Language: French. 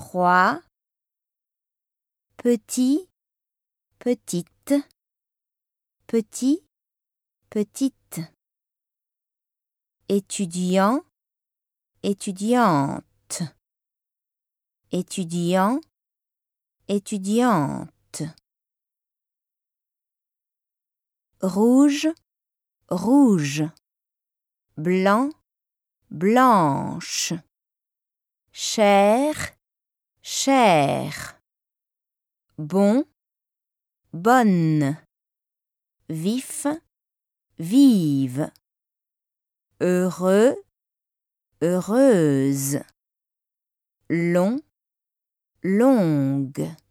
3, petit, petite, petit, petite, étudiant, étudiante, étudiant, étudiante, rouge, rouge, blanc, blanche, cher, chère, bon, bonne, vif, vive, heureux, heureuse, long, longue.